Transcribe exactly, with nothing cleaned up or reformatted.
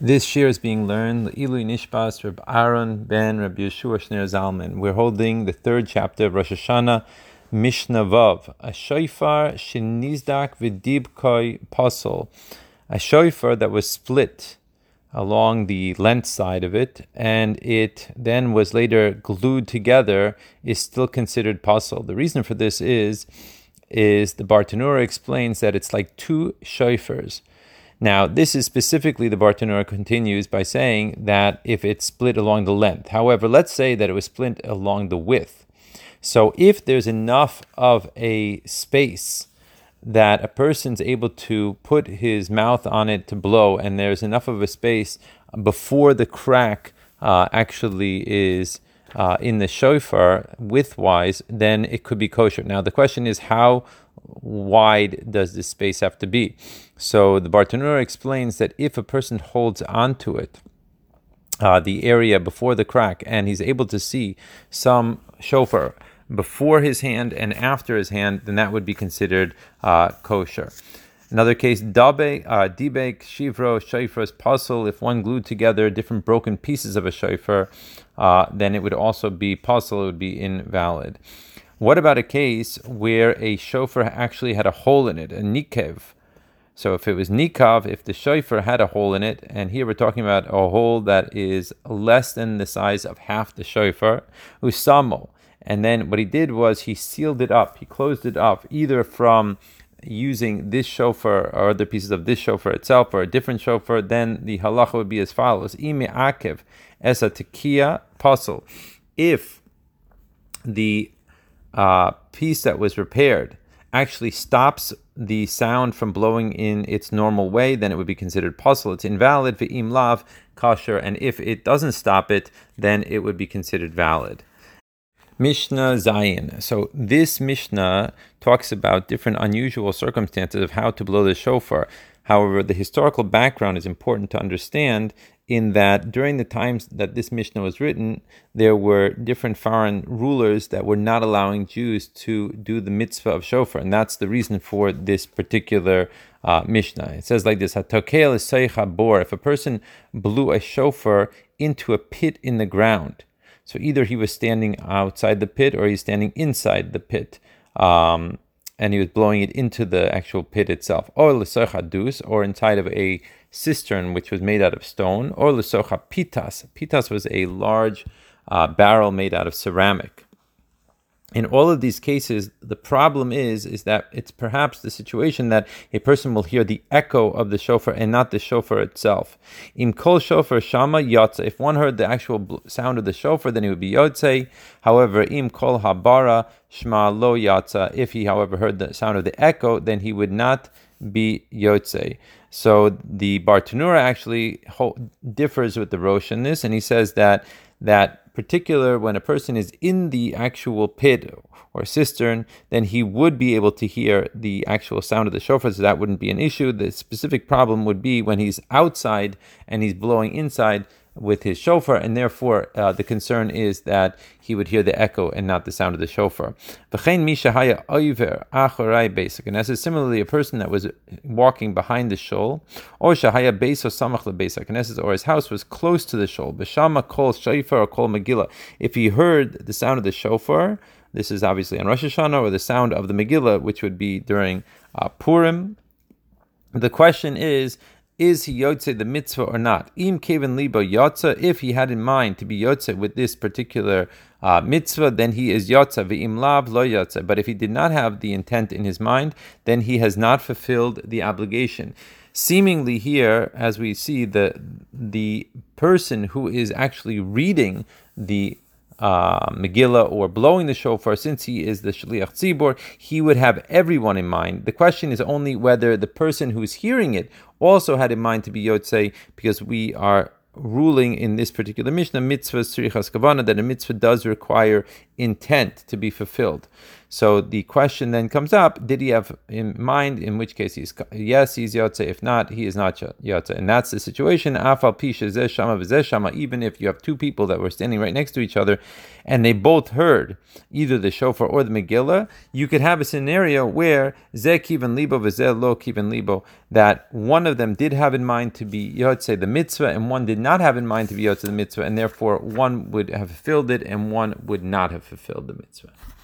This shir is being learned Ilui Nishbas Reb Aaron ben Reb Yeshua Shner Zalman. We're holding the third chapter of Rosh Hashanah, Mishnah Vav. A shofar shenizdak v'dibkoi pasol. A shofar that was split along the length side of it, and it then was later glued together, is still considered pasol. The reason for this is, is the Bartanura explains that it's like two shofars. Now, this is specifically, the Bartanura continues by saying that if it's split along the length. However, let's say that it was split along the width. So if there's enough of a space that a person's able to put his mouth on it to blow, and there's enough of a space before the crack uh, actually is uh, in the shofar width-wise, then it could be kosher. Now, the question is, how wide does this space have to be? So the Bartanura explains that if a person holds onto it, uh, the area before the crack, and he's able to see some shofar before his hand and after his hand, then that would be considered uh, kosher. Another case, dabe, uh, dibek, shivro, shofars, puzzle. If one glued together different broken pieces of a shofar, uh, then it would also be puzzle, it would be invalid. What about a case where a shofar actually had a hole in it, a nikev? So if it was nikav, if the shofar had a hole in it, and here we're talking about a hole that is less than the size of half the shofar, usamo. And then what he did was he sealed it up, he closed it up, either from using this shofar or other pieces of this shofar itself or a different shofar, then the halacha would be as follows. Ime akev esa tekiya pasol. If the uh, piece that was repaired actually stops the sound from blowing in its normal way, then it would be considered puzzle. It's invalid for im lav kosher, and if it doesn't stop it, then it would be considered valid. Mishnah Zayin. So this Mishnah talks about different unusual circumstances of how to blow the shofar. However, the historical background is important to understand, in that during the times that this Mishnah was written, there were different foreign rulers that were not allowing Jews to do the mitzvah of shofar, and that's the reason for this particular uh, Mishnah. It says like this: Hatokel eseicha bor. If a person blew a shofar into a pit in the ground, so either he was standing outside the pit or he's standing inside the pit, um, and he was blowing it into the actual pit itself. Or l'socha dus, or inside of a cistern which was made out of stone. Or l'socha pitas. Pitas was a large uh, barrel made out of ceramic. In all of these cases, the problem is, is that it's perhaps the situation that a person will hear the echo of the shofar and not the shofar itself. Im kol shofar shama yotze. If one heard the actual sound of the shofar, then it would be yotze. However, im kol habara shma lo yotze. If he, however, heard the sound of the echo, then he would not be yotze. So the Bartanura actually ho- differs with the Rosh in this, and he says that that particular when a person is in the actual pit or cistern, then he would be able to hear the actual sound of the shofar, so that wouldn't be an issue. The specific problem would be when he's outside and he's blowing inside with his shofar, and therefore uh, the concern is that he would hear the echo and not the sound of the shofar. And this is similarly a person that was walking behind the shul, or shahaya beis samach lebeis, or his house was close to the shul. B'shama kol shofar or kol megillah. If he heard the sound of the shofar, this is obviously on Rosh Hashanah, or the sound of the Megillah, which would be during uh, Purim. The question is, is he yotze the mitzvah or not? Im keven libo yotze. If he had in mind to be yotze with this particular uh, mitzvah, then he is yotze. Ve'im lav lo yotze. But if he did not have the intent in his mind, then he has not fulfilled the obligation. Seemingly here, as we see, the the person who is actually reading the Uh, Megillah or blowing the shofar, since he is the Shliach Tzibor, he would have everyone in mind. The question is only whether the person who is hearing it also had in mind to be Yotzei, because we are ruling in this particular Mishnah, mitzvah tzrichas kavana, that a mitzvah does require intent to be fulfilled. So the question then comes up, did he have in mind, in which case he's yes, he's Yotze, if not, he is not Yotze. And that's the situation, Afal Pisha Zeh Shama V'Zeh Shama, even if you have two people that were standing right next to each other, and they both heard either the shofar or the Megillah, you could have a scenario where Zeh Kivan Libo V'Zeh Lo Kivan Libo, that one of them did have in mind to be Yotze the mitzvah, and one did not have in mind to be Yotze the mitzvah, and therefore one would have fulfilled it, and one would not have fulfilled the mitzvah.